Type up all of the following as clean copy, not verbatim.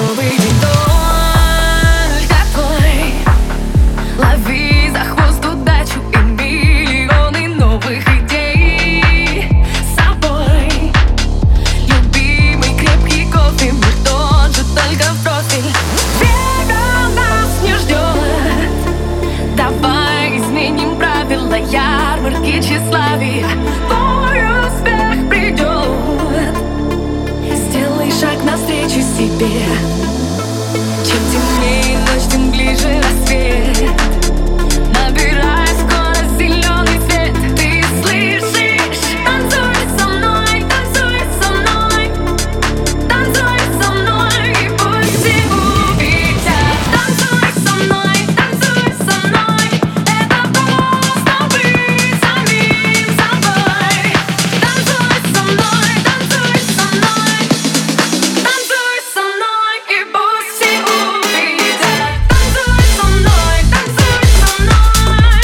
новый день только твой. Лови за хвост удачу и миллионы новых идей с собой. Любимый крепкий кофе, мир тот же, только в профиль. Века нас не ждет. Давай изменим правила ярмарки тщеславия. Твой успех придет. Сделай шаг навстречу себе. Чем темнее ночь, тем ближе рассвет. Набирай скорость, зеленый цвет. Ты слышишь? Танцуй со мной, танцуй со мной, танцуй со мной, и пусть все увидят. Танцуй со мной, танцуй со мной. Это просто быть самим собой. Танцуй со мной, танцуй со мной, танцуй со мной, и пусть все увидят. Танцуй со мной, танцуй со мной.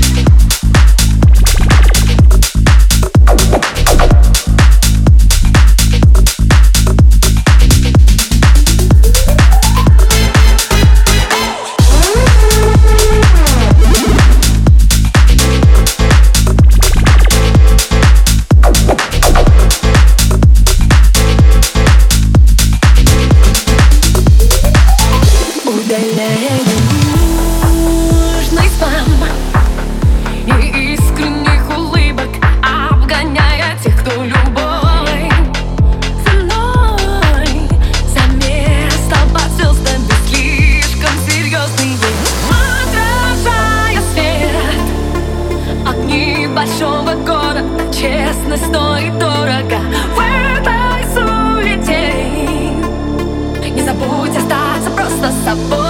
Удаляя ненужный спам и искренних улыбок, обгоняя тех, кто любой ценой за место под звездами слишком серьезный день. Отражая свет огни большого города, честность стоит дорого в этой суете. Не забудь остаться просто собой.